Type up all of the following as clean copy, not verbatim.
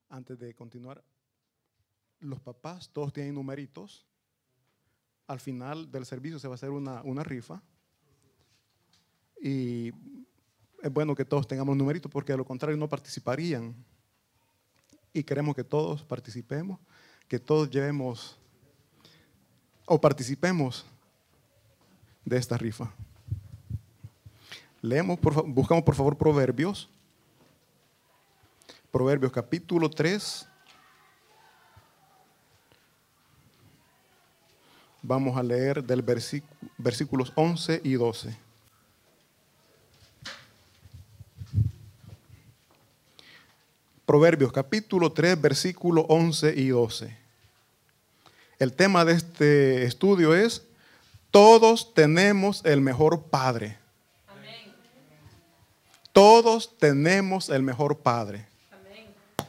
Antes de continuar, los papás todos tienen numeritos. Al final del servicio se va a hacer una rifa. Y es bueno que todos tengamos numeritos porque de lo contrario no participarían. Y queremos que todos participemos, que todos llevemos o participemos de esta rifa. Buscamos por favor Proverbios. Proverbios capítulo 3. Vamos a leer del versículos 11 y 12. Proverbios capítulo 3, versículo 11 y 12. El tema de este estudio es: todos tenemos el mejor Padre. Amén. Todos tenemos el mejor Padre. Amén.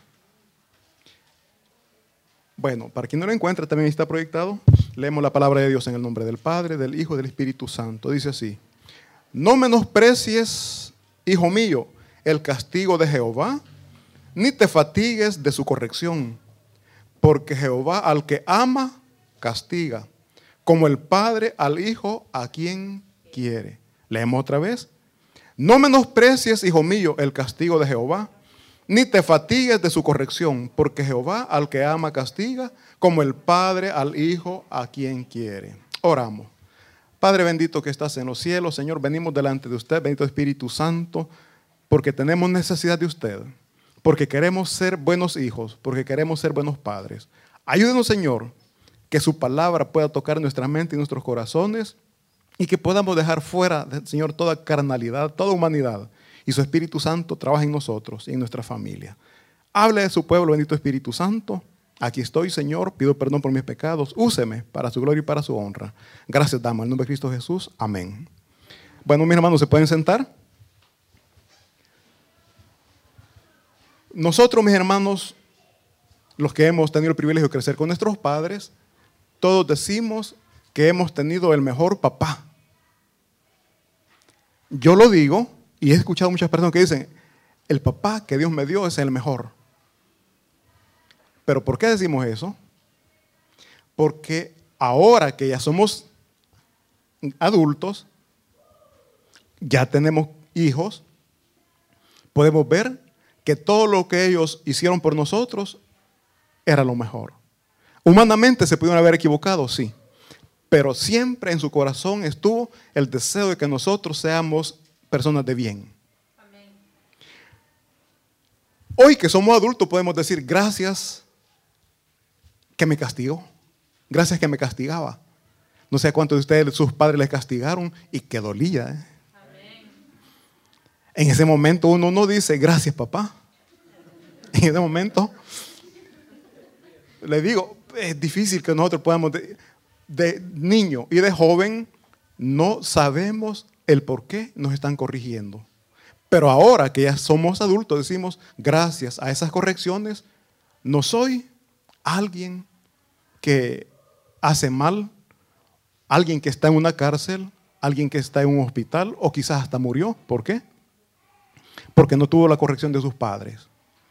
Bueno, para quien no lo encuentra, también está proyectado. Leemos la palabra de Dios en el nombre del Padre, del Hijo y del Espíritu Santo. Dice así: no menosprecies, hijo mío, el castigo de Jehová, ni te fatigues de su corrección, porque Jehová al que ama, castiga, como el Padre al Hijo a quien quiere. Leemos otra vez: no menosprecies, hijo mío, el castigo de Jehová, ni te fatigues de su corrección, porque Jehová al que ama castiga, como el Padre al Hijo a quien quiere. Oramos. Padre bendito que estás en los cielos, Señor, venimos delante de usted, bendito Espíritu Santo, porque tenemos necesidad de usted, porque queremos ser buenos hijos, porque queremos ser buenos padres. Ayúdenos, Señor, que su palabra pueda tocar nuestra mente y nuestros corazones y que podamos dejar fuera, Señor, toda carnalidad, toda humanidad, y su Espíritu Santo trabaje en nosotros y en nuestra familia. Hable de su pueblo, bendito Espíritu Santo. Aquí estoy, Señor, pido perdón por mis pecados. Úseme para su gloria y para su honra. Gracias damos, en el nombre de Cristo Jesús. Amén. Bueno, mis hermanos, ¿se pueden sentar? Nosotros, mis hermanos, los que hemos tenido el privilegio de crecer con nuestros padres, todos decimos que hemos tenido el mejor papá. Yo lo digo y he escuchado muchas personas que dicen: el papá que Dios me dio es el mejor. ¿Pero por qué decimos eso? Porque ahora que ya somos adultos, ya tenemos hijos, podemos ver que todo lo que ellos hicieron por nosotros era lo mejor. Humanamente se pudieron haber equivocado, sí, pero siempre en su corazón estuvo el deseo de que nosotros seamos personas de bien. Amén. Hoy que somos adultos podemos decir: gracias que me castigó, gracias que me castigaba. No sé a cuántos de ustedes sus padres les castigaron y que dolía. Amén. En ese momento uno no dice: gracias, papá. En ese momento, le digo, es difícil que nosotros podamos, de niño y de joven, no sabemos el por qué nos están corrigiendo. Pero ahora que ya somos adultos, decimos: gracias a esas correcciones, no soy alguien que hace mal, alguien que está en una cárcel, alguien que está en un hospital o quizás hasta murió. ¿Por qué? Porque no tuvo la corrección de sus padres.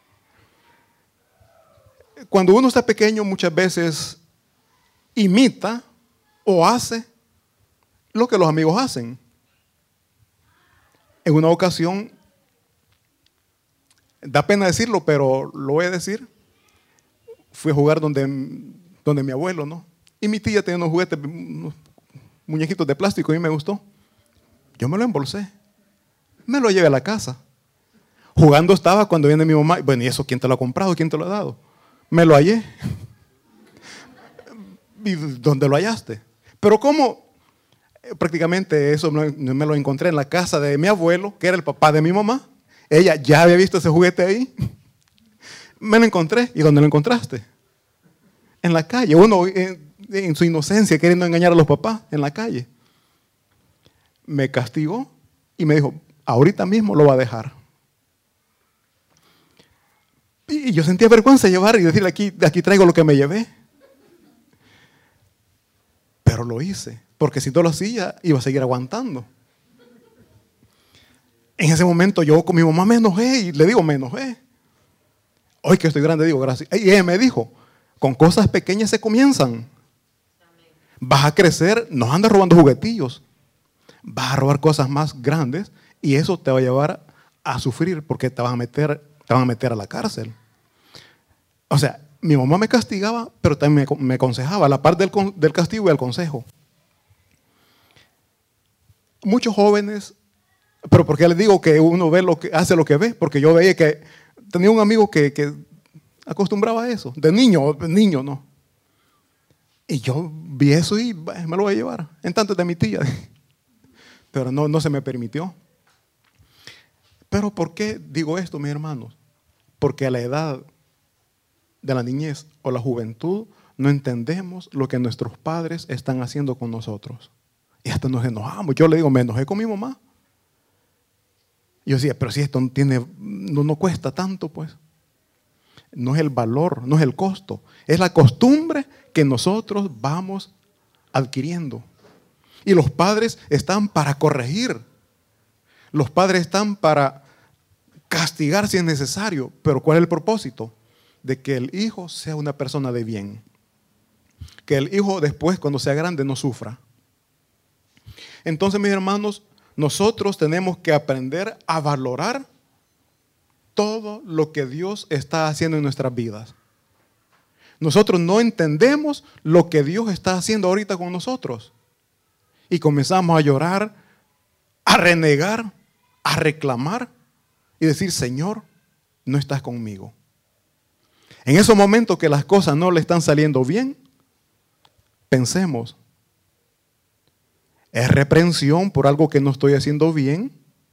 Cuando uno está pequeño, muchas veces imita o hace lo que los amigos hacen. En una ocasión, da pena decirlo, pero lo voy a decir, fui a jugar donde mi abuelo, ¿no? Y mi tía tenía unos juguetes, unos muñequitos de plástico, y a mí me gustó. Yo me lo embolsé, me lo llevé a la casa. Jugando estaba cuando viene mi mamá. Bueno, ¿y eso quién te lo ha comprado? ¿Quién te lo ha dado? Me lo hallé. ¿Y dónde lo hallaste? Pero ¿cómo? Prácticamente eso me lo encontré en la casa de mi abuelo, que era el papá de mi mamá. Ella ya había visto ese juguete ahí. Me lo encontré. ¿Y dónde lo encontraste? En la calle. Uno en su inocencia queriendo engañar a los papás en la calle. Me castigó y me dijo: ahorita mismo lo va a dejar. Y yo sentía vergüenza de llevar y decirle: aquí traigo lo que me llevé. Pero lo hice, porque si no lo hacía, iba a seguir aguantando. En ese momento yo con mi mamá me enojé, y le digo, me enojé. Hoy que estoy grande digo gracias. Y ella me dijo, con cosas pequeñas se comienzan. Vas a crecer, no andas robando juguetillos. Vas a robar cosas más grandes y eso te va a llevar a sufrir porque te van a meter a la cárcel. O sea, mi mamá me castigaba, pero también me aconsejaba, a la par del castigo y el consejo. Muchos jóvenes, pero ¿por qué les digo que uno hace lo que ve? Porque yo veía que tenía un amigo que acostumbraba a eso, de niño, no. Y yo vi eso y me lo voy a llevar, en tanto de mi tía. Pero no se me permitió. Pero ¿por qué digo esto, mis hermanos? Porque a la edad de la niñez o la juventud no entendemos lo que nuestros padres están haciendo con nosotros. Y hasta nos enojamos. Yo le digo, me enojé con mi mamá. Y yo decía, pero si esto no cuesta tanto, pues. No es el valor, no es el costo. Es la costumbre que nosotros vamos adquiriendo. Y los padres están para corregir. Los padres están para castigar si es necesario. Pero ¿cuál es el propósito? De que el hijo sea una persona de bien. Que el hijo después, cuando sea grande, no sufra. Entonces, mis hermanos, nosotros tenemos que aprender a valorar todo lo que Dios está haciendo en nuestras vidas. Nosotros no entendemos lo que Dios está haciendo ahorita con nosotros. Y comenzamos a llorar, a renegar, a reclamar y decir, Señor, no estás conmigo. En esos momentos que las cosas no le están saliendo bien, pensemos, ¿es reprensión por algo que no estoy haciendo bien?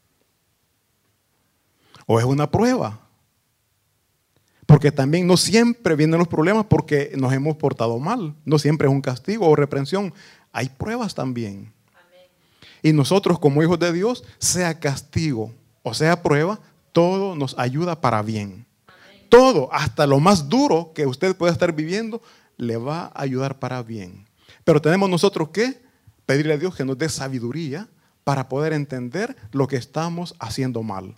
¿O es una prueba? Porque también no siempre vienen los problemas porque nos hemos portado mal. No siempre es un castigo o reprensión. Hay pruebas también. Amén. Y nosotros como hijos de Dios, sea castigo o sea prueba, todo nos ayuda para bien. Amén. Todo, hasta lo más duro que usted pueda estar viviendo, le va a ayudar para bien. Pero tenemos nosotros que pedirle a Dios que nos dé sabiduría para poder entender lo que estamos haciendo mal.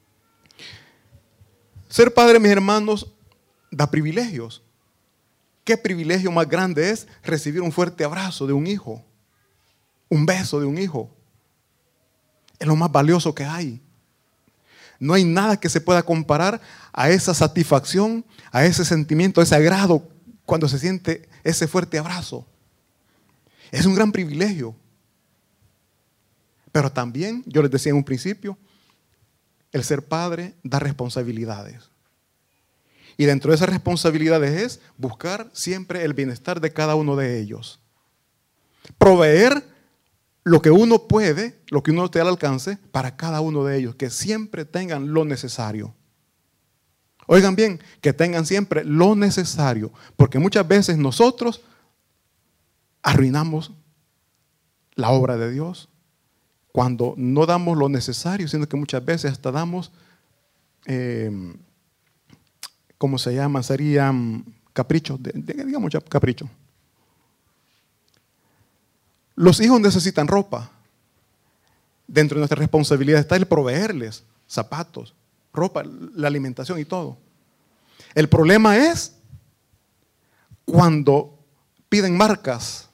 Ser padre, mis hermanos, da privilegios. ¿Qué privilegio más grande es recibir un fuerte abrazo de un hijo? Un beso de un hijo. Es lo más valioso que hay. No hay nada que se pueda comparar a esa satisfacción, a ese sentimiento, a ese agrado cuando se siente ese fuerte abrazo. Es un gran privilegio. Pero también, yo les decía en un principio, el ser padre da responsabilidades. Y dentro de esas responsabilidades es buscar siempre el bienestar de cada uno de ellos. Proveer lo que uno puede, lo que uno esté al alcance para cada uno de ellos, que siempre tengan lo necesario. Oigan bien, que tengan siempre lo necesario, porque muchas veces nosotros arruinamos la obra de Dios cuando no damos lo necesario, sino que muchas veces hasta damos, ¿cómo se llama? Serían caprichos, digamos caprichos. Los hijos necesitan ropa. Dentro de nuestra responsabilidad está el proveerles zapatos, ropa, la alimentación y todo. El problema es cuando piden marcas,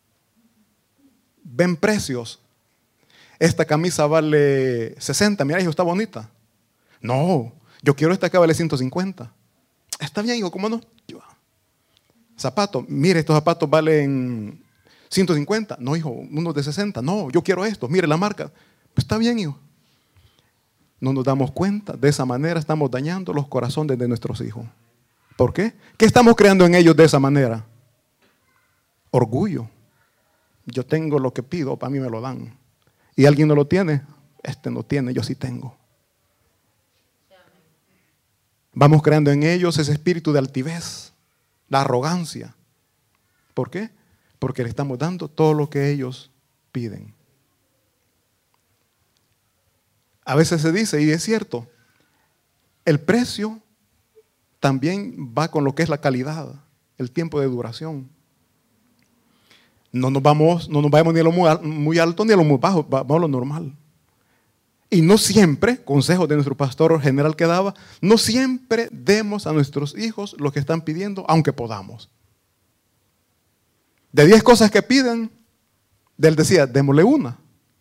ven precios. Esta camisa vale 60, mira hijo, está bonita. No, yo quiero esta que vale 150. Está bien hijo, ¿cómo no? Zapatos, mire estos zapatos valen 150. No hijo, unos de 60. No, yo quiero estos, mire la marca. Pues está bien hijo. No nos damos cuenta, de esa manera estamos dañando los corazones de nuestros hijos. ¿Por qué? ¿Qué estamos creando en ellos de esa manera? Orgullo. Yo tengo lo que pido, para mí me lo dan. Y alguien no lo tiene, este no tiene, yo sí tengo. Vamos creando en ellos ese espíritu de altivez, la arrogancia. ¿Por qué? Porque le estamos dando todo lo que ellos piden. A veces se dice, y es cierto, el precio también va con lo que es la calidad, el tiempo de duración. No nos vamos ni a lo muy alto ni a lo muy bajo, vamos a lo normal. Y no siempre, consejo de nuestro pastor general que daba, no siempre demos a nuestros hijos lo que están pidiendo, aunque podamos. De 10 cosas que piden, él decía, démosle una.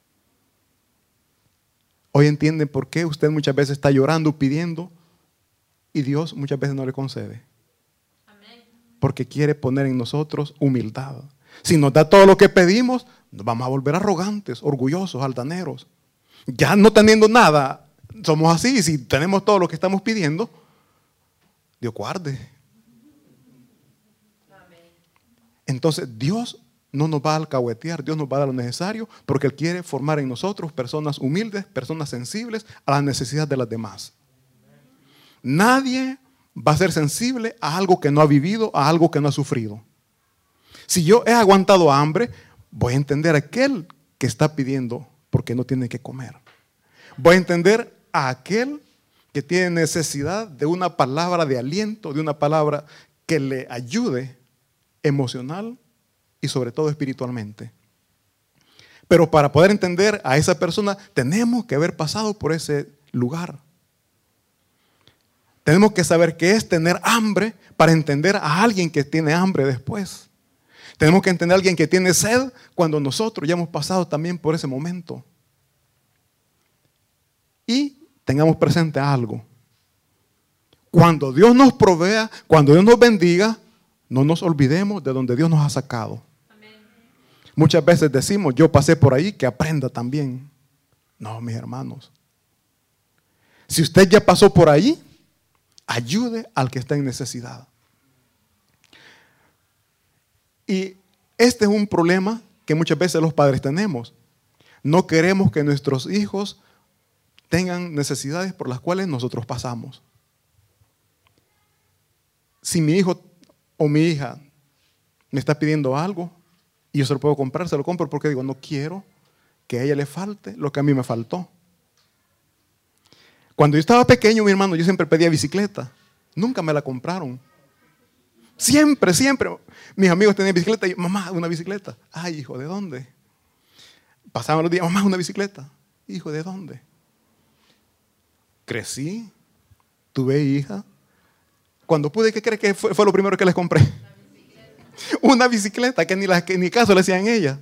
Hoy entienden por qué usted muchas veces está llorando, pidiendo, y Dios muchas veces no le concede. Porque quiere poner en nosotros humildad. Si nos da todo lo que pedimos, nos vamos a volver arrogantes, orgullosos, altaneros. Ya no teniendo nada, somos así. Y si tenemos todo lo que estamos pidiendo, Dios guarde. Entonces Dios no nos va a alcahuetear, Dios nos va a dar lo necesario, porque Él quiere formar en nosotros personas humildes, personas sensibles a las necesidades de las demás. Nadie va a ser sensible a algo que no ha vivido, a algo que no ha sufrido. Si yo he aguantado hambre, voy a entender a aquel que está pidiendo porque no tiene que comer. Voy a entender a aquel que tiene necesidad de una palabra de aliento, de una palabra que le ayude emocional y sobre todo espiritualmente. Pero para poder entender a esa persona, tenemos que haber pasado por ese lugar. Tenemos que saber qué es tener hambre para entender a alguien que tiene hambre después. Tenemos que entender a alguien que tiene sed cuando nosotros ya hemos pasado también por ese momento. Y tengamos presente algo. Cuando Dios nos provea, cuando Dios nos bendiga, no nos olvidemos de donde Dios nos ha sacado. Amén. Muchas veces decimos, yo pasé por ahí, que aprenda también. No, mis hermanos. Si usted ya pasó por ahí, ayude al que está en necesidad. Y este es un problema que muchas veces los padres tenemos. No queremos que nuestros hijos tengan necesidades por las cuales nosotros pasamos. Si mi hijo o mi hija me está pidiendo algo y yo se lo puedo comprar, se lo compro porque digo, no quiero que a ella le falte lo que a mí me faltó. Cuando yo estaba pequeño, mi hermano, yo siempre pedía bicicleta. Nunca me la compraron. Siempre. Mis amigos tenían bicicleta y mamá, una bicicleta. Ay, hijo, ¿de dónde? Pasaban los días, mamá, una bicicleta. Hijo, ¿de dónde? Crecí, tuve hija. Cuando pude, ¿qué cree que fue lo primero que les compré? Una bicicleta que ni caso le hacían ella.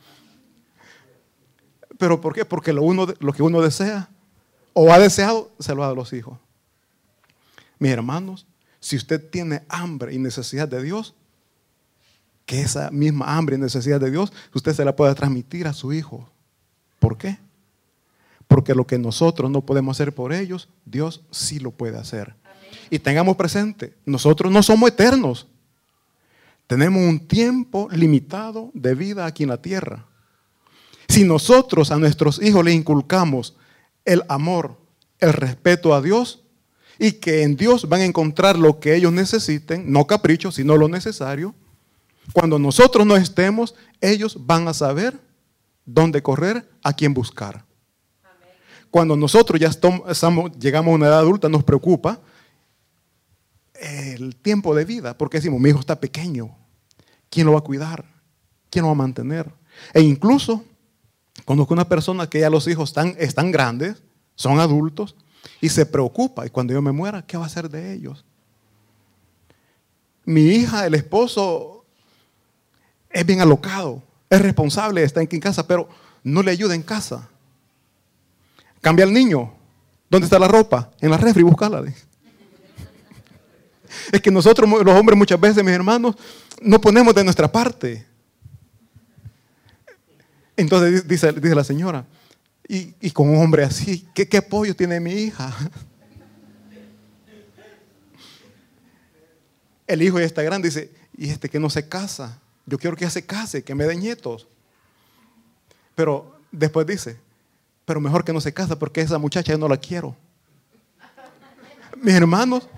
¿Pero por qué? Porque lo que uno desea o ha deseado, se lo da a los hijos. Mis hermanos, si usted tiene hambre y necesidad de Dios, que esa misma hambre y necesidad de Dios, usted se la puede transmitir a su hijo. ¿Por qué? Porque lo que nosotros no podemos hacer por ellos, Dios sí lo puede hacer. Amén. Y tengamos presente, nosotros no somos eternos. Tenemos un tiempo limitado de vida aquí en la tierra. Si nosotros a nuestros hijos les inculcamos el amor, el respeto a Dios, y que en Dios van a encontrar lo que ellos necesiten, no caprichos, sino lo necesario, cuando nosotros no estemos, ellos van a saber dónde correr, a quién buscar. Amén. Cuando nosotros ya llegamos a una edad adulta, nos preocupa el tiempo de vida, porque decimos, mi hijo está pequeño, ¿quién lo va a cuidar? ¿Quién lo va a mantener? E incluso conozco una persona que ya los hijos están grandes, son adultos, y se preocupa, y cuando yo me muera, ¿qué va a hacer de ellos? Mi hija, el esposo, es bien alocado, es responsable, está en casa, pero no le ayuda en casa. Cambia al niño, ¿dónde está la ropa? En la refri, búscala. Es que nosotros, los hombres, muchas veces, mis hermanos, no ponemos de nuestra parte. Entonces dice la señora, y con un hombre así, ¿qué apoyo tiene mi hija? El hijo ya está grande, dice, y que no se casa. Yo quiero que ella se case, que me dé nietos. Pero después dice, pero mejor que no se casa porque esa muchacha yo no la quiero. Mis hermanos,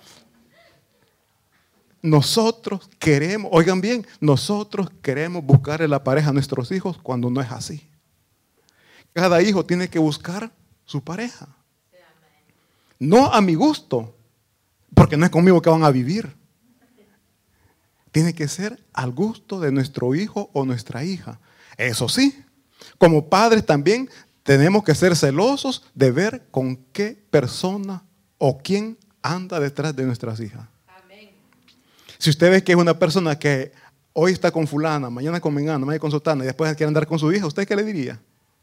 nosotros queremos, oigan bien, nosotros queremos buscarle la pareja a nuestros hijos cuando no es así. Cada hijo tiene que buscar su pareja. No a mi gusto, porque no es conmigo que van a vivir. Tiene que ser al gusto de nuestro hijo o nuestra hija. Eso sí, como padres también tenemos que ser celosos de ver con qué persona o quién anda detrás de nuestras hijas. Amén. Si usted ve que es una persona que hoy está con fulana, mañana con mengana, mañana con sotana y después quiere andar con su hija, ¿usted qué le diría?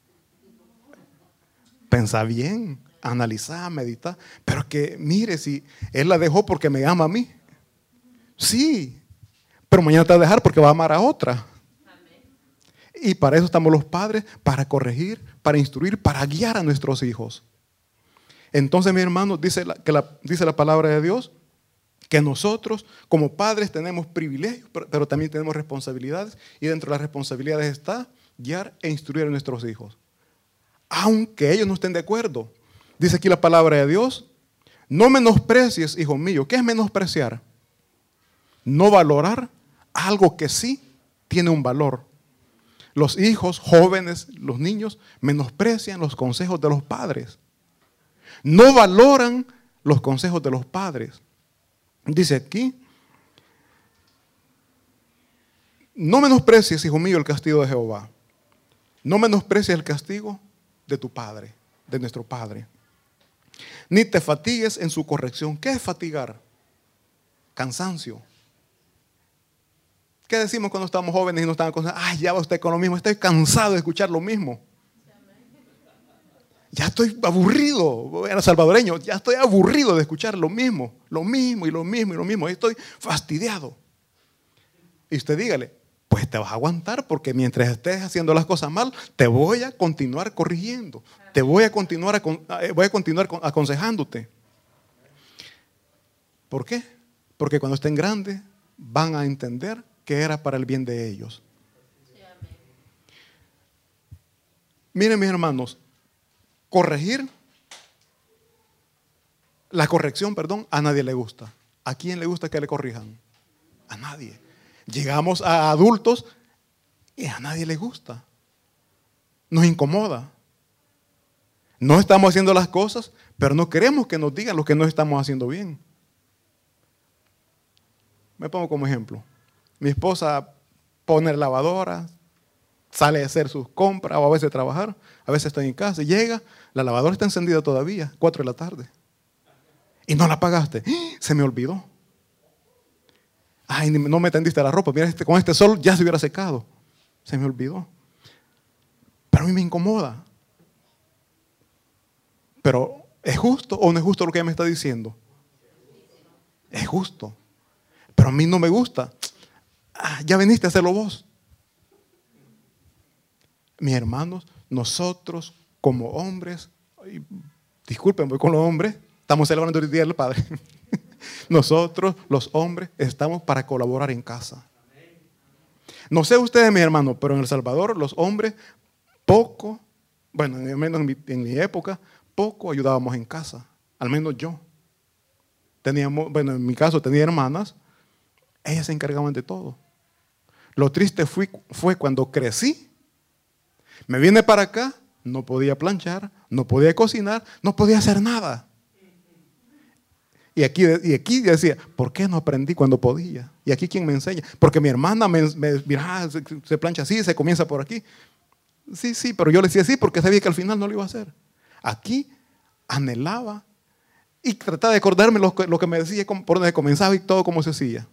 Pensá bien, analizá, meditá. Pero que mire, si él la dejó porque me ama a mí. Sí, pero mañana te va a dejar porque va a amar a otra. Y para eso estamos los padres, para corregir, para instruir, para guiar a nuestros hijos. Entonces, mi hermano, dice la palabra de Dios que nosotros como padres tenemos privilegios, pero también tenemos responsabilidades. Y dentro de las responsabilidades está guiar e instruir a nuestros hijos. Aunque ellos no estén de acuerdo. Dice aquí la palabra de Dios, no menosprecies, hijo mío. ¿Qué es menospreciar? No valorar algo que sí tiene un valor. Los hijos jóvenes, los niños, menosprecian los consejos de los padres. No valoran los consejos de los padres. Dice aquí, no menosprecies, hijo mío, el castigo de Jehová. No menosprecies el castigo de tu padre, de nuestro padre. Ni te fatigues en su corrección. ¿Qué es fatigar? Cansancio. ¿Qué decimos cuando estamos jóvenes y nos están aconsejando? Ay, ya va usted con lo mismo, estoy cansado de escuchar lo mismo. Ya estoy aburrido, era salvadoreño, ya estoy aburrido de escuchar lo mismo y lo mismo. Estoy fastidiado. Y usted dígale, pues te vas a aguantar porque mientras estés haciendo las cosas mal, te voy a continuar corrigiendo, te voy a continuar aconsejándote. ¿Por qué? Porque cuando estén grandes van a entender que era para el bien de ellos. Miren, mis hermanos, la corrección, a nadie le gusta. ¿A quién le gusta que le corrijan? A nadie. Llegamos a adultos y a nadie le gusta. Nos incomoda. No estamos haciendo las cosas, pero no queremos que nos digan lo que no estamos haciendo bien. Me pongo como ejemplo. Mi esposa pone la lavadora, sale a hacer sus compras o a veces a trabajar. A veces estoy en casa y llega, la lavadora está encendida todavía, 4 de la tarde. Y no la apagaste. Se me olvidó. Ay, no me tendiste la ropa. Mira, con este sol ya se hubiera secado. Se me olvidó. Pero a mí me incomoda. Pero, ¿es justo o no es justo lo que ella me está diciendo? Es justo. Pero a mí no me gusta. Ya veniste a hacerlo vos. Mis hermanos, nosotros como hombres, disculpen, voy con los hombres, estamos celebrando el Día del Padre. Nosotros, los hombres, estamos para colaborar en casa. No sé ustedes, mis hermanos, pero en El Salvador los hombres poco, bueno, al menos en mi época, poco ayudábamos en casa. Al menos yo. En mi caso tenía hermanas, ellas se encargaban de todo. Lo triste fue cuando crecí. Me vine para acá, no podía planchar, no podía cocinar, no podía hacer nada. Y aquí decía, ¿por qué no aprendí cuando podía? Y aquí ¿quién me enseña? Porque mi hermana mira, se plancha así, se comienza por aquí. Sí, pero yo le decía sí porque sabía que al final no lo iba a hacer. Aquí anhelaba y trataba de acordarme lo que me decía, por donde comenzaba y todo cómo se hacía.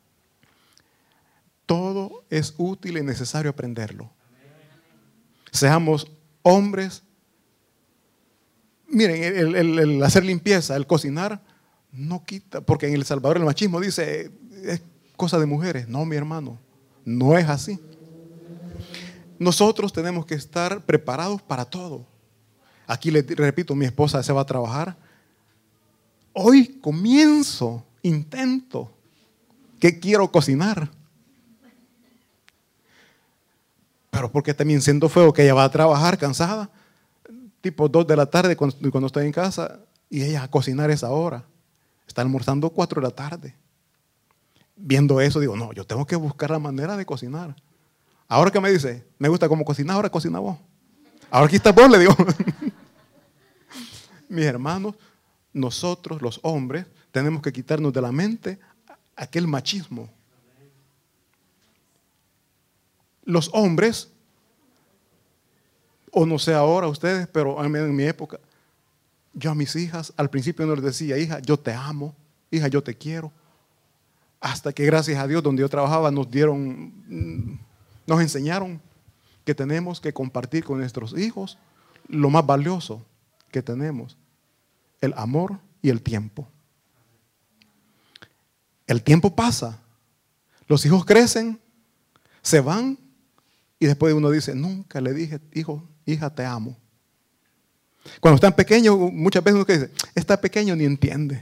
Todo es útil y necesario aprenderlo. Seamos hombres. Miren, el hacer limpieza, el cocinar, no quita, porque en El Salvador el machismo dice, es cosa de mujeres. No, mi hermano, no es así. Nosotros tenemos que estar preparados para todo. Aquí le repito, mi esposa se va a trabajar. Hoy intento, que quiero cocinar. Pero porque también siendo feo que ella va a trabajar cansada, tipo 2 de la tarde cuando estoy en casa, y ella a cocinar esa hora. Está almorzando 4 de la tarde. Viendo eso digo, no, yo tengo que buscar la manera de cocinar. Ahora que me dice, me gusta cómo cocinar, ahora cocina vos. Ahora aquí estás vos, le digo. Mis hermanos, nosotros los hombres tenemos que quitarnos de la mente aquel machismo. Los hombres O no sé ahora ustedes, pero en mi época, yo a mis hijas, al principio no les decía, hija, yo te amo, hija, yo te quiero. Hasta que gracias a Dios, donde yo trabajaba, nos enseñaron que tenemos que compartir con nuestros hijos lo más valioso que tenemos, el amor y el tiempo. El tiempo pasa, los hijos crecen, se van y después uno dice, nunca le dije, hijo, hija, te amo. Cuando están pequeños, muchas veces uno dice, está pequeño ni entiende.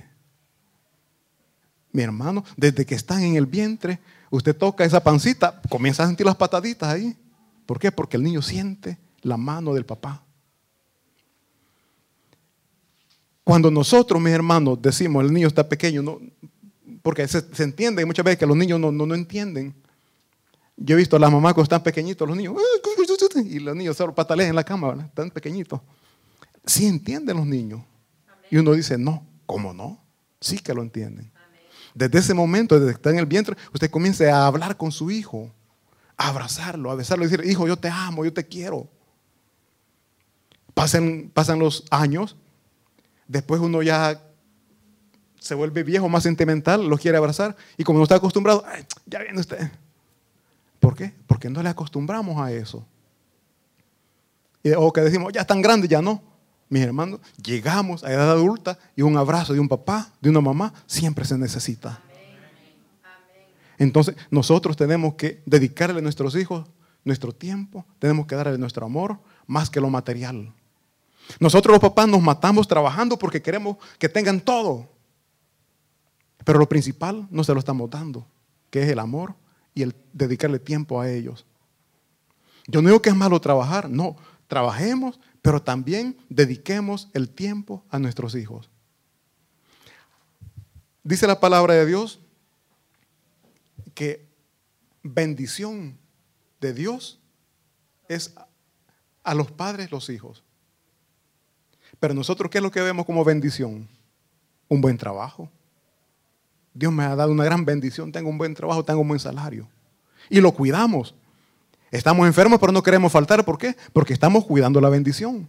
Mi hermano, desde que están en el vientre, usted toca esa pancita, comienza a sentir las pataditas ahí. ¿Por qué? Porque el niño siente la mano del papá. Cuando nosotros, mis hermanos, decimos el niño está pequeño, no, porque se entiende muchas veces que los niños no entienden. Yo he visto a las mamás cuando están pequeñitos, los niños, y los niños solo patalean en la cama, ¿verdad? Están pequeñitos. Sí entienden los niños. Amén. Y uno dice, no, ¿cómo no? Sí que lo entienden. Amén. Desde ese momento, desde que está en el vientre, usted comience a hablar con su hijo, a abrazarlo, a besarlo y decir, hijo, yo te amo, yo te quiero. Pasan los años, después uno ya se vuelve viejo, más sentimental, lo quiere abrazar y como no está acostumbrado, ay, ya viene usted. ¿Por qué? Porque no le acostumbramos a eso. O que decimos, ya están grandes, ya no. Mis hermanos, llegamos a edad adulta y un abrazo de un papá, de una mamá, siempre se necesita. Entonces, nosotros tenemos que dedicarle a nuestros hijos nuestro tiempo, tenemos que darle nuestro amor más que lo material. Nosotros los papás nos matamos trabajando porque queremos que tengan todo. Pero lo principal no se lo estamos dando, que es el amor y el dedicarle tiempo a ellos. Yo no digo que es malo trabajar, no, trabajemos, pero también dediquemos el tiempo a nuestros hijos. Dice la palabra de Dios que bendición de Dios es a los padres los hijos. Pero nosotros, ¿qué es lo que vemos como bendición? Un buen trabajo. Dios me ha dado una gran bendición, tengo un buen trabajo, tengo un buen salario. Y lo cuidamos. Estamos enfermos, pero no queremos faltar. ¿Por qué? Porque estamos cuidando la bendición.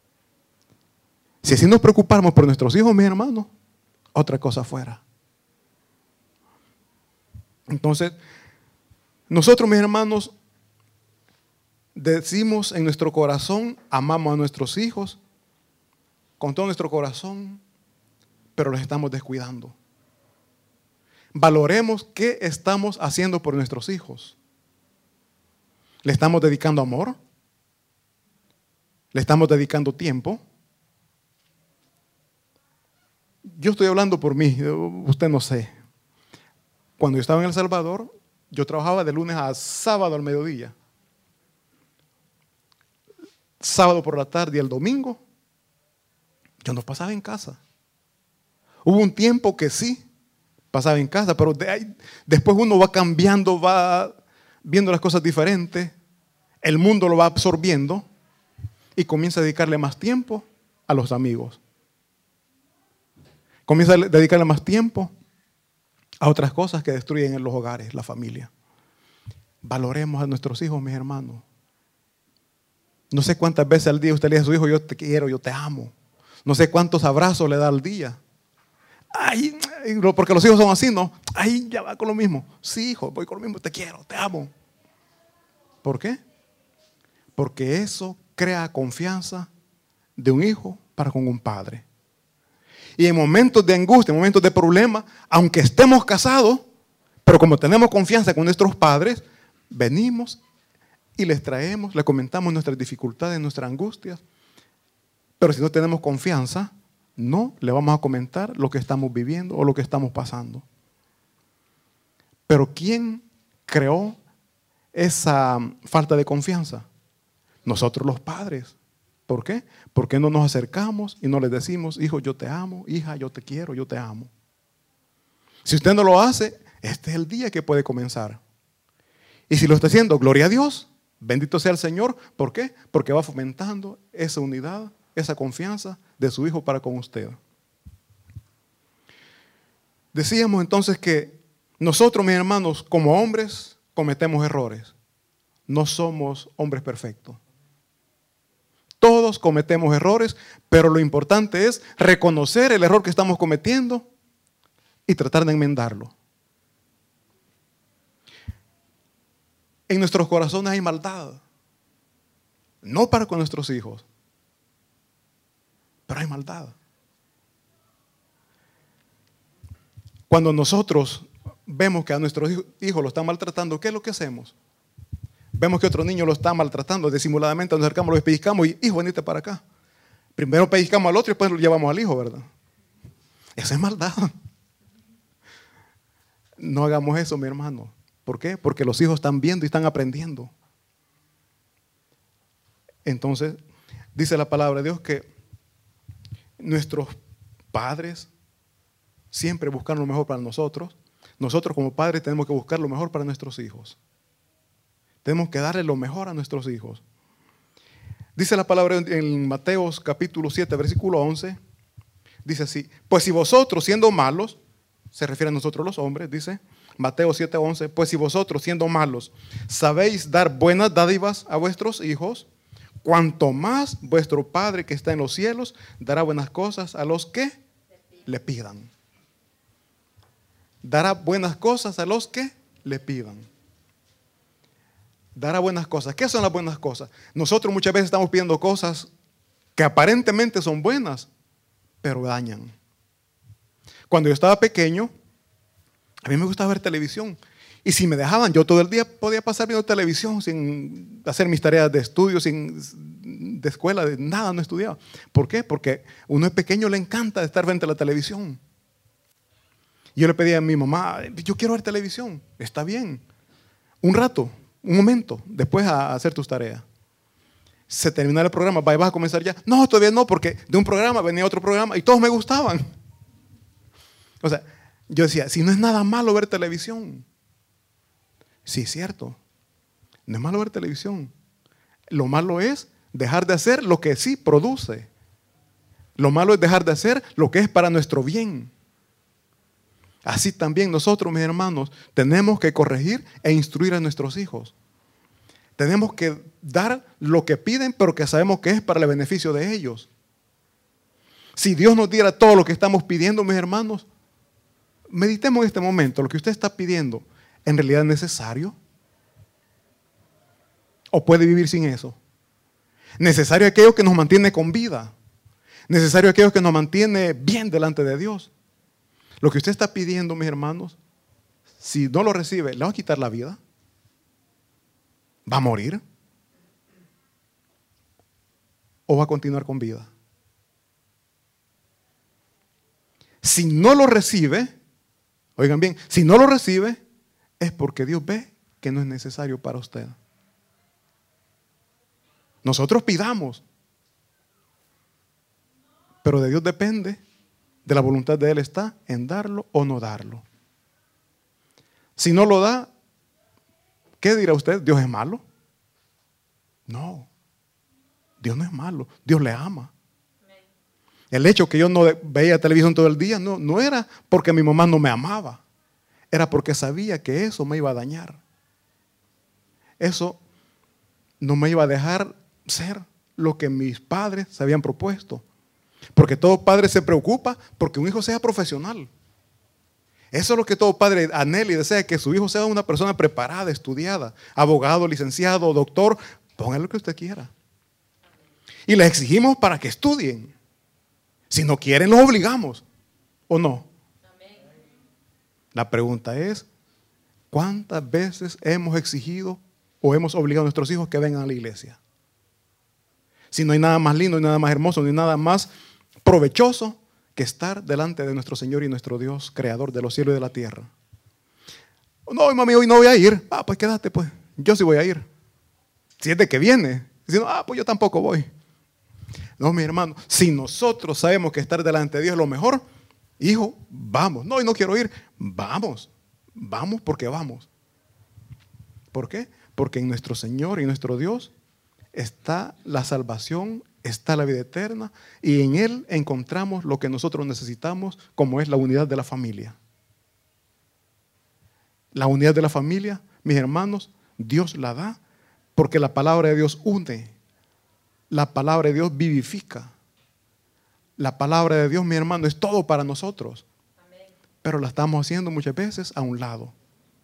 Si así nos preocupamos por nuestros hijos, mis hermanos, otra cosa fuera. Entonces, nosotros, mis hermanos, decimos en nuestro corazón, amamos a nuestros hijos con todo nuestro corazón, pero los estamos descuidando. Valoremos qué estamos haciendo por nuestros hijos. ¿Le estamos dedicando amor? ¿Le estamos dedicando tiempo? Yo estoy hablando por mí, usted no sé. Cuando yo estaba en El Salvador, yo trabajaba de lunes a sábado al mediodía. Sábado por la tarde y el domingo, yo no pasaba en casa. Hubo un tiempo que sí, pasaba en casa, pero después uno va cambiando, va viendo las cosas diferentes, el mundo lo va absorbiendo y comienza a dedicarle más tiempo a los amigos. Comienza a dedicarle más tiempo a otras cosas que destruyen en los hogares, la familia. Valoremos a nuestros hijos, mis hermanos. No sé cuántas veces al día usted le dice a su hijo, yo te quiero, yo te amo. No sé cuántos abrazos le da al día. Ay, porque los hijos son así, ¿no? Ay, ya va con lo mismo. Sí, hijo, voy con lo mismo, te quiero, te amo. ¿Por qué? Porque eso crea confianza de un hijo para con un padre. Y en momentos de angustia, en momentos de problema, aunque estemos casados, pero como tenemos confianza con nuestros padres, venimos y les traemos, les comentamos nuestras dificultades, nuestras angustias. Pero si no tenemos confianza, no le vamos a comentar lo que estamos viviendo o lo que estamos pasando. Pero ¿quién creó esa falta de confianza? Nosotros los padres. ¿Por qué? Porque no nos acercamos y no les decimos, hijo, yo te amo, hija, yo te quiero, yo te amo. Si usted no lo hace, este es el día que puede comenzar. Y si lo está haciendo, gloria a Dios, bendito sea el Señor. ¿Por qué? Porque va fomentando esa unidad, esa confianza de su hijo para con usted. Decíamos entonces que nosotros, mis hermanos, como hombres, cometemos errores. No somos hombres perfectos. Todos cometemos errores, pero lo importante es reconocer el error que estamos cometiendo y tratar de enmendarlo. En nuestros corazones hay maldad, no para con nuestros hijos, pero hay maldad. Cuando nosotros vemos que a nuestros hijos lo están maltratando, ¿qué es lo que hacemos? Vemos que otro niño lo está maltratando, disimuladamente nos acercamos, lo pellizcamos y, hijo, venite para acá. Primero pellizcamos al otro y después lo llevamos al hijo, ¿verdad? Esa es maldad. No hagamos eso, mi hermano. ¿Por qué? Porque los hijos están viendo y están aprendiendo. Entonces, dice la palabra de Dios que nuestros padres siempre buscan lo mejor para nosotros. Nosotros como padres tenemos que buscar lo mejor para nuestros hijos. Tenemos que darle lo mejor a nuestros hijos. Dice la palabra en Mateo capítulo 7, versículo 11. Dice así: pues si vosotros siendo malos, se refiere a nosotros los hombres, dice Mateo 7, 11, pues si vosotros siendo malos sabéis dar buenas dádivas a vuestros hijos, cuanto más vuestro Padre que está en los cielos dará buenas cosas a los que le pidan. Dará buenas cosas a los que le pidan. Dará buenas cosas. ¿Qué son las buenas cosas? Nosotros muchas veces estamos pidiendo cosas que aparentemente son buenas, pero dañan. Cuando yo estaba pequeño, a mí me gustaba ver televisión. Y si me dejaban, yo todo el día podía pasar viendo televisión sin hacer mis tareas de estudio, de escuela, de nada, no estudiaba. ¿Por qué? Porque uno es pequeño, le encanta estar frente a la televisión. Yo le pedía a mi mamá, yo quiero ver televisión. Está bien. Un rato, un momento, después a hacer tus tareas. Se termina el programa, vas a comenzar ya. No, todavía no, porque de un programa venía otro programa y todos me gustaban. O sea, yo decía, si no es nada malo ver televisión. Sí, es cierto. No es malo ver televisión. Lo malo es dejar de hacer lo que sí produce. Lo malo es dejar de hacer lo que es para nuestro bien. Así también nosotros, mis hermanos, tenemos que corregir e instruir a nuestros hijos. Tenemos que dar lo que piden, pero que sabemos que es para el beneficio de ellos. Si Dios nos diera todo lo que estamos pidiendo, mis hermanos, meditemos en este momento. Lo que usted está pidiendo, ¿en realidad es necesario? ¿O puede vivir sin eso? Necesario aquello que nos mantiene con vida. Necesario aquello que nos mantiene bien delante de Dios. Lo que usted está pidiendo, mis hermanos, si no lo recibe, ¿le va a quitar la vida? ¿Va a morir? ¿O va a continuar con vida? Si no lo recibe, oigan bien, si no lo recibe, es porque Dios ve que no es necesario para usted. Nosotros pidamos, pero de Dios depende, de la voluntad de Él está en darlo o no darlo. Si no lo da, ¿qué dirá usted? ¿Dios es malo? No, Dios no es malo, Dios le ama. El hecho que yo no veía televisión todo el día no era porque mi mamá no me amaba, era porque sabía que eso me iba a dañar. Eso no me iba a dejar ser lo que mis padres se habían propuesto. Porque todo padre se preocupa porque un hijo sea profesional. Eso es lo que todo padre anhela y desea, que su hijo sea una persona preparada, estudiada, abogado, licenciado, doctor, póngale lo que usted quiera. Y les exigimos para que estudien. Si no quieren, los obligamos, ¿o no? La pregunta es, ¿cuántas veces hemos exigido o hemos obligado a nuestros hijos que vengan a la iglesia? Si no hay nada más lindo, ni nada más hermoso, ni nada más provechoso que estar delante de nuestro Señor y nuestro Dios, creador de los cielos y de la tierra. No, mami, hoy no voy a ir. Pues quédate, pues. Yo sí voy a ir. Si es de que viene. Si no, pues yo tampoco voy. No, mi hermano, si nosotros sabemos que estar delante de Dios es lo mejor, hijo, vamos. No, y no quiero ir. Vamos. Vamos porque vamos. ¿Por qué? Porque en nuestro Señor y nuestro Dios está la salvación, está la vida eterna, y en Él encontramos lo que nosotros necesitamos, como es la unidad de la familia. La unidad de la familia, mis hermanos, Dios la da porque la palabra de Dios une La palabra de Dios vivifica. La palabra de Dios, mi hermano, es todo para nosotros. Pero la estamos haciendo muchas veces a un lado.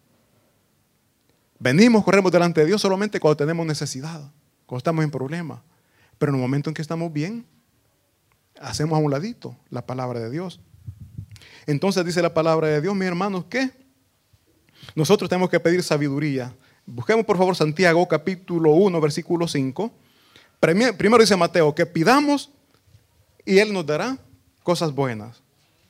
Venimos, corremos delante de Dios solamente cuando tenemos necesidad, cuando estamos en problemas. Pero en el momento en que estamos bien, hacemos a un ladito la palabra de Dios. Entonces dice la palabra de Dios, mis hermanos, que nosotros tenemos que pedir sabiduría. Busquemos por favor Santiago capítulo 1, versículo 5. Primero dice Mateo, que pidamos y Él nos dará cosas buenas.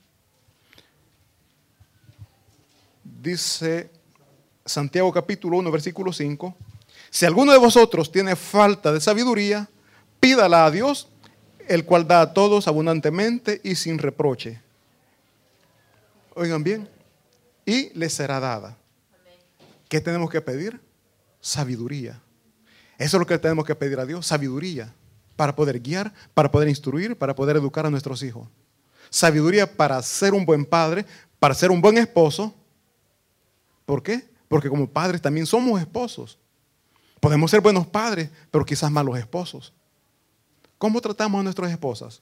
Dice Santiago capítulo 1, versículo 5. Si alguno de vosotros tiene falta de sabiduría, pídala a Dios, el cual da a todos abundantemente y sin reproche. Oigan bien, y le será dada. ¿Qué tenemos que pedir? Sabiduría. Eso es lo que tenemos que pedir a Dios, sabiduría, para poder guiar, para poder instruir, para poder educar a nuestros hijos. Sabiduría para ser un buen padre, para ser un buen esposo. ¿Por qué? Porque como padres también somos esposos. Podemos ser buenos padres, pero quizás malos esposos. ¿Cómo tratamos a nuestras esposas?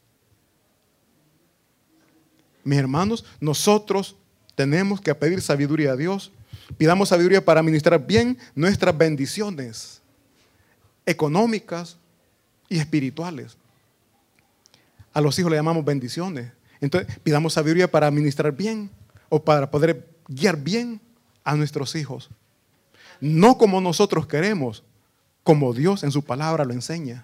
Mis hermanos, nosotros tenemos que pedir sabiduría a Dios. Pidamos sabiduría para administrar bien nuestras bendiciones económicas y espirituales. A los hijos le llamamos bendiciones. Entonces, pidamos sabiduría para administrar bien o para poder guiar bien a nuestros hijos. No como nosotros queremos, como Dios en su palabra lo enseña.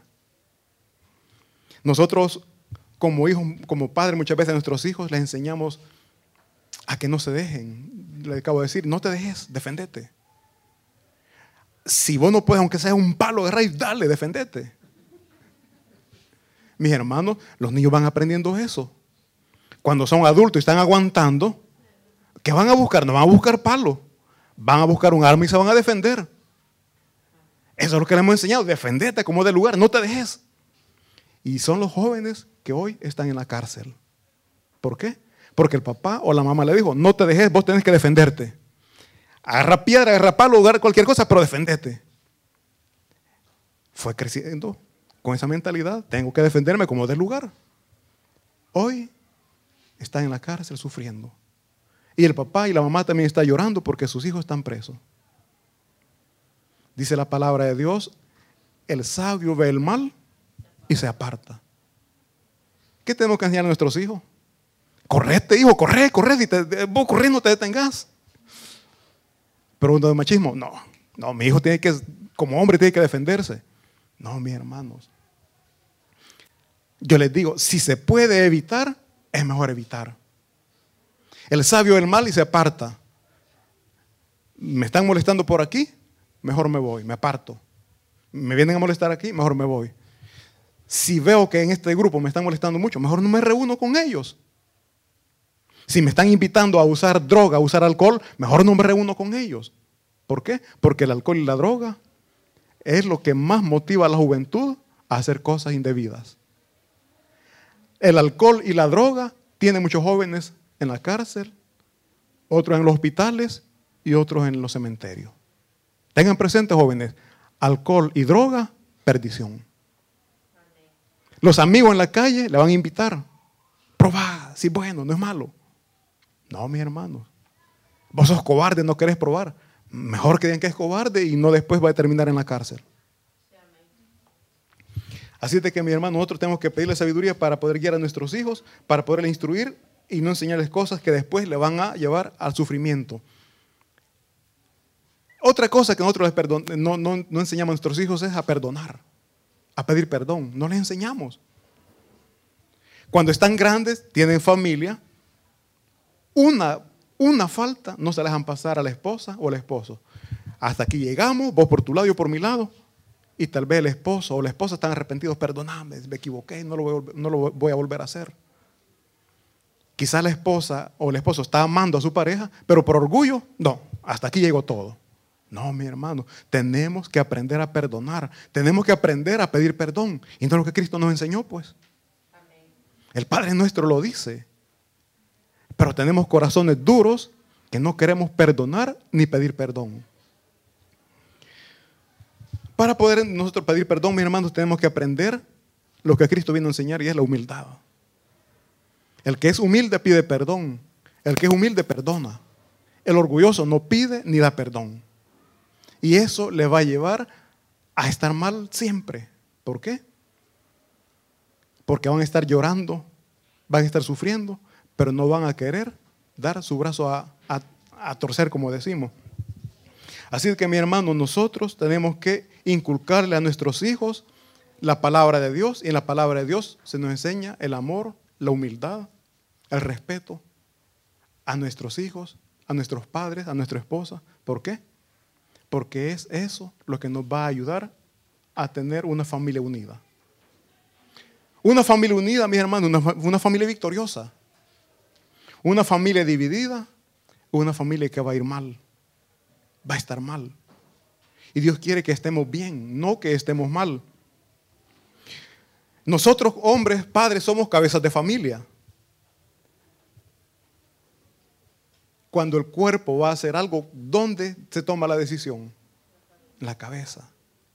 Nosotros como hijos, como padres, muchas veces a nuestros hijos les enseñamos a que no se dejen. Le acabo de decir, no te dejes, defendete. Si vos no puedes, aunque sea un palo de raíz, dale, defendete. Mis hermanos, los niños van aprendiendo eso. Cuando son adultos y están aguantando, ¿qué van a buscar? No van a buscar palo. Van a buscar un arma y se van a defender. Eso es lo que les hemos enseñado. Defendete como de lugar, no te dejes. Y son los jóvenes que hoy están en la cárcel. ¿Por qué? Porque el papá o la mamá le dijo, no te dejes, vos tenés que defenderte. Agarra piedra, agarra palo, agarra cualquier cosa, pero defendete. Fue creciendo con esa mentalidad, tengo que defenderme como del lugar. Hoy están en la cárcel sufriendo. Y el papá y la mamá también están llorando porque sus hijos están presos. Dice la palabra de Dios, el sabio ve el mal y se aparta. ¿Qué tenemos que enseñar a nuestros hijos? Correte, hijo, corre, si vos corres no te detengas. Pero uno de machismo, no, mi hijo tiene que, como hombre tiene que defenderse. No, mis hermanos. Yo les digo, si se puede evitar, es mejor evitar. El sabio ve el mal y se aparta. Me están molestando por aquí, mejor me voy, me aparto. Me vienen a molestar aquí, mejor me voy. Si veo que en este grupo me están molestando mucho, mejor no me reúno con ellos. Si me están invitando a usar droga, a usar alcohol, mejor no me reúno con ellos. ¿Por qué? Porque el alcohol y la droga es lo que más motiva a la juventud a hacer cosas indebidas. El alcohol y la droga tienen muchos jóvenes en la cárcel, otros en los hospitales y otros en los cementerios. Tengan presente, jóvenes, alcohol y droga, perdición. Los amigos en la calle le van a invitar. Probá, sí, bueno, no es malo. No, mis hermanos. Vos sos cobarde, no querés probar. Mejor que digan que es cobarde y no después va a terminar en la cárcel. Así es de que, mi hermano, nosotros tenemos que pedirle sabiduría para poder guiar a nuestros hijos, para poderles instruir y no enseñarles cosas que después le van a llevar al sufrimiento. Otra cosa que nosotros no enseñamos a nuestros hijos es a perdonar, a pedir perdón. No les enseñamos. Cuando están grandes, tienen familia, una falta no se la dejan pasar a la esposa o al esposo. Hasta aquí llegamos, vos por tu lado, yo por mi lado. Y tal vez el esposo o la esposa están arrepentidos. Perdóname, me equivoqué, no lo voy a volver a hacer. Quizás la esposa o el esposo está amando a su pareja, pero por orgullo, no, hasta aquí llegó todo. No, mi hermano, tenemos que aprender a perdonar. Tenemos que aprender a pedir perdón. Y no es lo que Cristo nos enseñó, pues. Amén. El Padre nuestro lo dice. Pero tenemos corazones duros que no queremos perdonar ni pedir perdón. Para poder nosotros pedir perdón, mis hermanos, tenemos que aprender lo que Cristo vino a enseñar, y es la humildad. El que es humilde pide perdón. El que es humilde perdona. El orgulloso no pide ni da perdón. Y eso le va a llevar a estar mal siempre. ¿Por qué? Porque van a estar llorando, van a estar sufriendo, pero no van a querer dar su brazo a torcer, como decimos. Así que, mi hermano, nosotros tenemos que inculcarle a nuestros hijos la palabra de Dios, y en la palabra de Dios se nos enseña el amor, la humildad, el respeto a nuestros hijos, a nuestros padres, a nuestra esposa. ¿Por qué? Porque es eso lo que nos va a ayudar a tener una familia unida. Una familia unida, mis hermanos, una familia victoriosa. Una familia dividida, una familia que va a ir mal, va a estar mal. Y Dios quiere que estemos bien, no que estemos mal. Nosotros, hombres, padres, somos cabezas de familia. Cuando el cuerpo va a hacer algo, ¿dónde se toma la decisión? En la cabeza.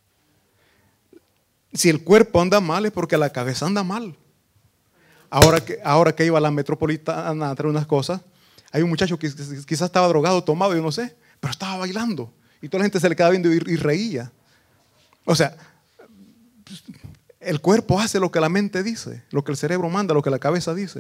Si el cuerpo anda mal es porque la cabeza anda mal. Ahora que iba a la metropolitana a traer unas cosas, hay un muchacho que quizás estaba drogado, tomado, yo no sé, pero estaba bailando. Y toda la gente se le quedaba viendo y reía. O sea, el cuerpo hace lo que la mente dice, lo que el cerebro manda, lo que la cabeza dice.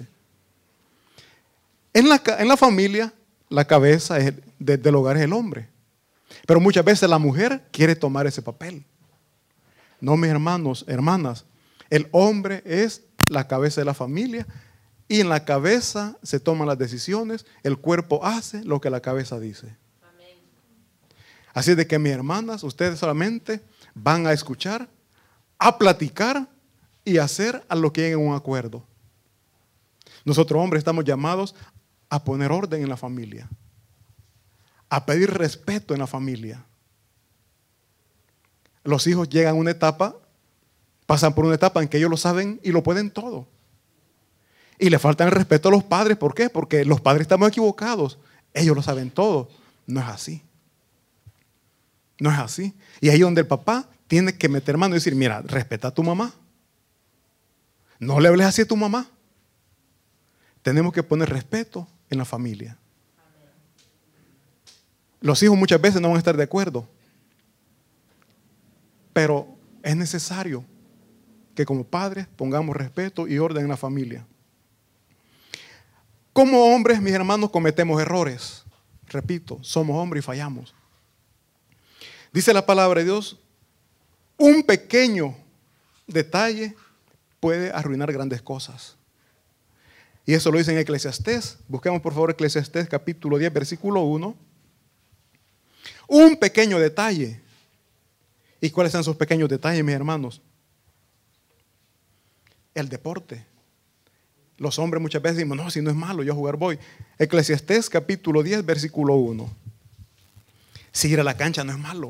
En la familia, la cabeza del hogar es el hombre. Pero muchas veces la mujer quiere tomar ese papel. No, mis hermanos, hermanas, el hombre es la cabeza de la familia, y en la cabeza se toman las decisiones, el cuerpo hace lo que la cabeza dice. Amén. Así de que, mis hermanas, ustedes solamente van a escuchar, a platicar y a hacer a lo que lleguen a un acuerdo. Nosotros, hombres, estamos llamados a poner orden en la familia, a pedir respeto en la familia. Los hijos llegan a una etapa, pasan por una etapa en que ellos lo saben y lo pueden todo. Y le faltan el respeto a los padres. ¿Por qué? Porque los padres estamos equivocados. Ellos lo saben todo. No es así. No es así. Y ahí donde el papá tiene que meter mano y decir, mira, respeta a tu mamá. No le hables así a tu mamá. Tenemos que poner respeto en la familia. Los hijos muchas veces no van a estar de acuerdo. Pero es necesario que como padres pongamos respeto y orden en la familia. Como hombres, mis hermanos, cometemos errores. Repito, somos hombres y fallamos. Dice la palabra de Dios, un pequeño detalle puede arruinar grandes cosas. Y eso lo dice en Eclesiastés. Busquemos por favor Eclesiastés capítulo 10, versículo 1. Un pequeño detalle. ¿Y cuáles son esos pequeños detalles, mis hermanos? El deporte. Los hombres muchas veces decimos, no, si no es malo, yo a jugar voy. Eclesiastés capítulo 10, versículo 1. Si ir a la cancha no es malo.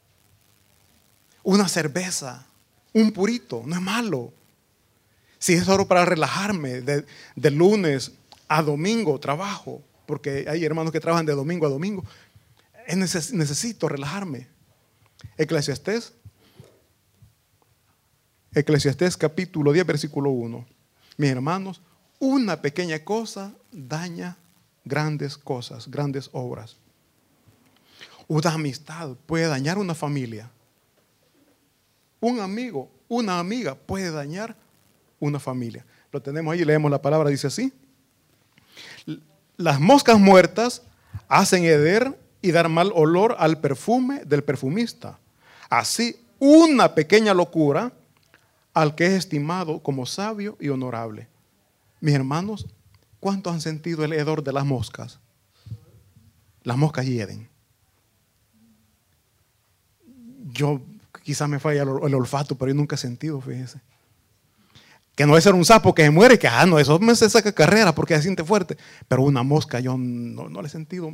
Una cerveza, un purito, no es malo. Si es solo para relajarme, de lunes a domingo trabajo, porque hay hermanos que trabajan de domingo a domingo, necesito relajarme. Eclesiastés capítulo 10, versículo 1. Mis hermanos, una pequeña cosa daña grandes cosas, grandes obras. Una amistad puede dañar una familia. Un amigo, una amiga puede dañar una familia. Lo tenemos ahí, leemos la palabra, dice así. Las moscas muertas hacen heder y dar mal olor al perfume del perfumista. Así, una pequeña locura al que es estimado como sabio y honorable. Mis hermanos, ¿cuántos han sentido el hedor de las moscas? Las moscas hieden. Yo quizás me falla el olfato, pero yo nunca he sentido, fíjese. Que no es ser un sapo que se muere y que, no, eso me se saca carrera porque se siente fuerte. Pero una mosca yo no le he sentido.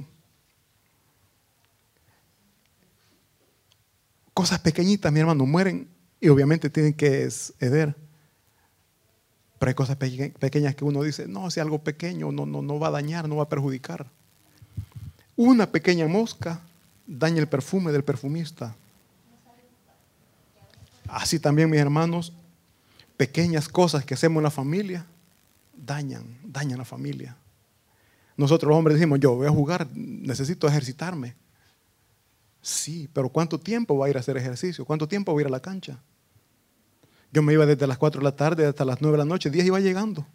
Cosas pequeñitas, mi hermano, mueren y obviamente tienen que heder. Pero hay cosas pequeñas que uno dice, no, si algo pequeño no va a dañar, no va a perjudicar. Una pequeña mosca daña el perfume del perfumista. Así también, mis hermanos, pequeñas cosas que hacemos en la familia dañan la familia. Nosotros los hombres decimos, yo voy a jugar, necesito ejercitarme. Sí, pero ¿cuánto tiempo va a ir a hacer ejercicio? ¿Cuánto tiempo va a ir a la cancha? Yo me iba desde las 4 de la tarde hasta las 9 de la noche, 10 iba llegando.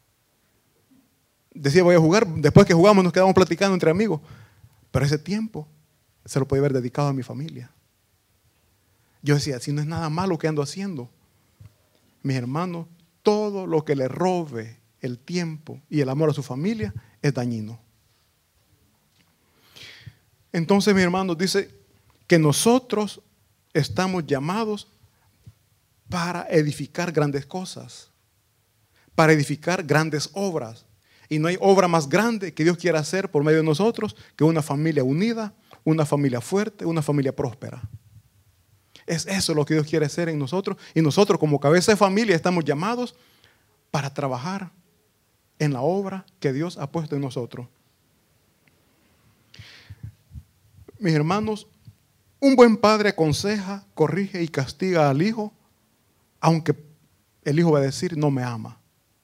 Decía, voy a jugar, después que jugamos nos quedamos platicando entre amigos. Pero ese tiempo se lo podía haber dedicado a mi familia. Yo decía, si no es nada malo que ando haciendo. Mis hermanos, todo lo que le robe el tiempo y el amor a su familia es dañino. Entonces, mis hermanos, dice que nosotros estamos llamados para edificar grandes cosas, para edificar grandes obras. Y no hay obra más grande que Dios quiera hacer por medio de nosotros que una familia unida, una familia fuerte, una familia próspera. Es eso lo que Dios quiere hacer en nosotros. Y nosotros como cabeza de familia estamos llamados para trabajar en la obra que Dios ha puesto en nosotros. Mis hermanos, un buen padre aconseja, corrige y castiga al hijo, aunque el hijo va a decir, no me ama.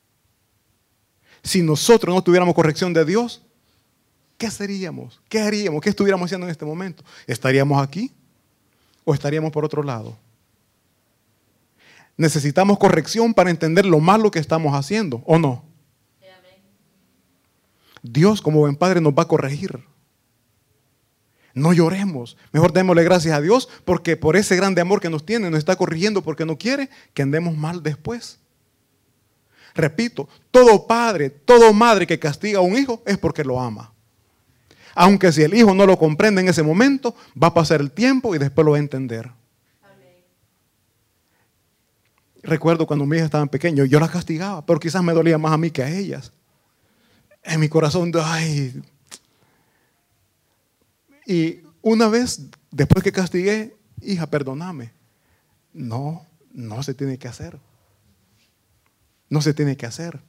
Si nosotros no tuviéramos corrección de Dios, ¿qué seríamos? ¿Qué haríamos? ¿Qué estuviéramos haciendo en este momento? ¿Estaríamos aquí o estaríamos por otro lado? Necesitamos corrección para entender lo malo que estamos haciendo, ¿o no? Dios como buen padre nos va a corregir. No lloremos, mejor démosle gracias a Dios porque por ese grande amor que nos tiene, nos está corrigiendo porque no quiere que andemos mal después. Repito, todo padre, toda madre que castiga a un hijo es porque lo ama. Aunque si el hijo no lo comprende en ese momento, va a pasar el tiempo y después lo va a entender. Amén. Recuerdo cuando mis hijas estaban pequeñas, yo las castigaba, pero quizás me dolía más a mí que a ellas. En mi corazón, ay. Y una vez, después que castigué, hija, perdóname. No se tiene que hacer. No se tiene que hacer.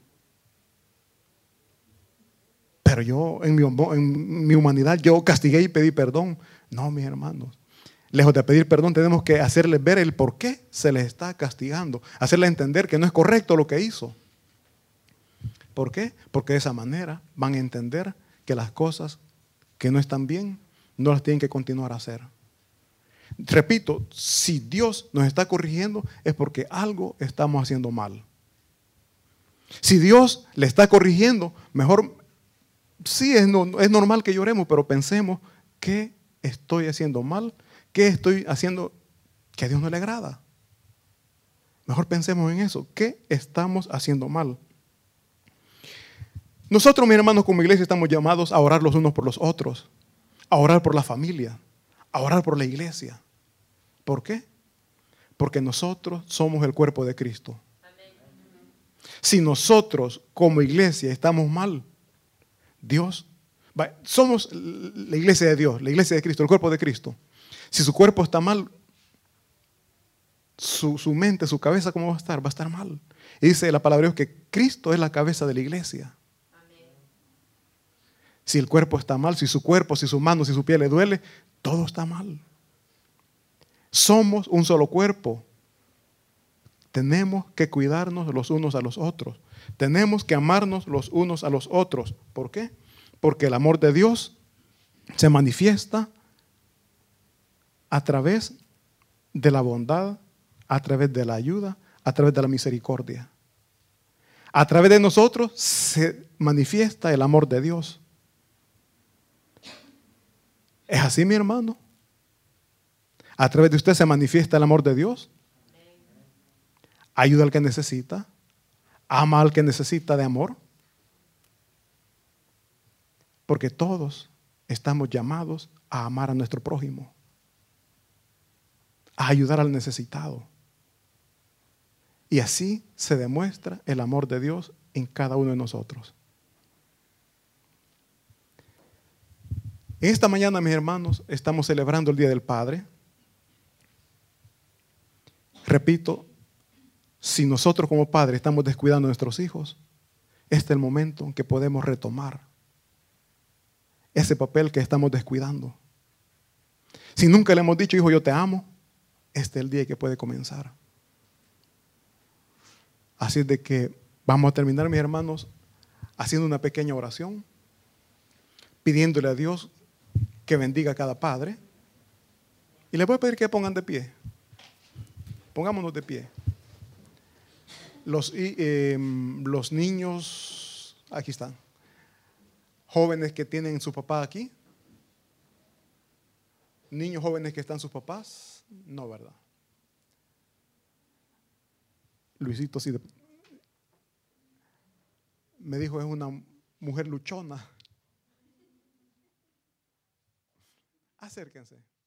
Pero yo, en mi humanidad, yo castigué y pedí perdón. No, mis hermanos. Lejos de pedir perdón, tenemos que hacerles ver el por qué se les está castigando. Hacerles entender que no es correcto lo que hizo. ¿Por qué? Porque de esa manera van a entender que las cosas que no están bien, no las tienen que continuar a hacer. Repito, si Dios nos está corrigiendo, es porque algo estamos haciendo mal. Si Dios le está corrigiendo, mejor, sí es normal que lloremos, pero pensemos, ¿qué estoy haciendo mal? ¿Qué estoy haciendo que a Dios no le agrada? Mejor pensemos en eso, ¿qué estamos haciendo mal? Nosotros, mis hermanos, como iglesia estamos llamados a orar los unos por los otros, a orar por la familia, a orar por la iglesia. ¿Por qué? Porque nosotros somos el cuerpo de Cristo. Si nosotros como iglesia estamos mal, Dios, somos la iglesia de Dios, la iglesia de Cristo, el cuerpo de Cristo. Si su cuerpo está mal, su mente, su cabeza, ¿cómo va a estar? Va a estar mal. Y dice la palabra de Dios que Cristo es la cabeza de la iglesia. Si el cuerpo está mal, si su cuerpo, si su mano, si su piel le duele, todo está mal. Somos un solo cuerpo. Tenemos que cuidarnos los unos a los otros. Tenemos que amarnos los unos a los otros. ¿Por qué? Porque el amor de Dios se manifiesta a través de la bondad, a través de la ayuda, a través de la misericordia. A través de nosotros se manifiesta el amor de Dios. ¿Es así, mi hermano? A través de usted se manifiesta el amor de Dios. Ayuda al que necesita. Ama al que necesita de amor. Porque todos estamos llamados a amar a nuestro prójimo. A ayudar al necesitado. Y así se demuestra el amor de Dios en cada uno de nosotros. Esta mañana, mis hermanos, estamos celebrando el Día del Padre. Repito, si nosotros como padres estamos descuidando a nuestros hijos, este es el momento en que podemos retomar ese papel que estamos descuidando. Si nunca le hemos dicho, hijo, yo te amo, este es el día que puede comenzar. Así es de que vamos a terminar, mis hermanos, haciendo una pequeña oración, pidiéndole a Dios que bendiga a cada padre. Y les voy a pedir que pongan de pie. Pongámonos de pie. Los niños, aquí están. Jóvenes que tienen su papá aquí. Niños jóvenes que están sus papás. No, ¿verdad? Luisito sí. Me dijo, es una mujer luchona. Acérquense.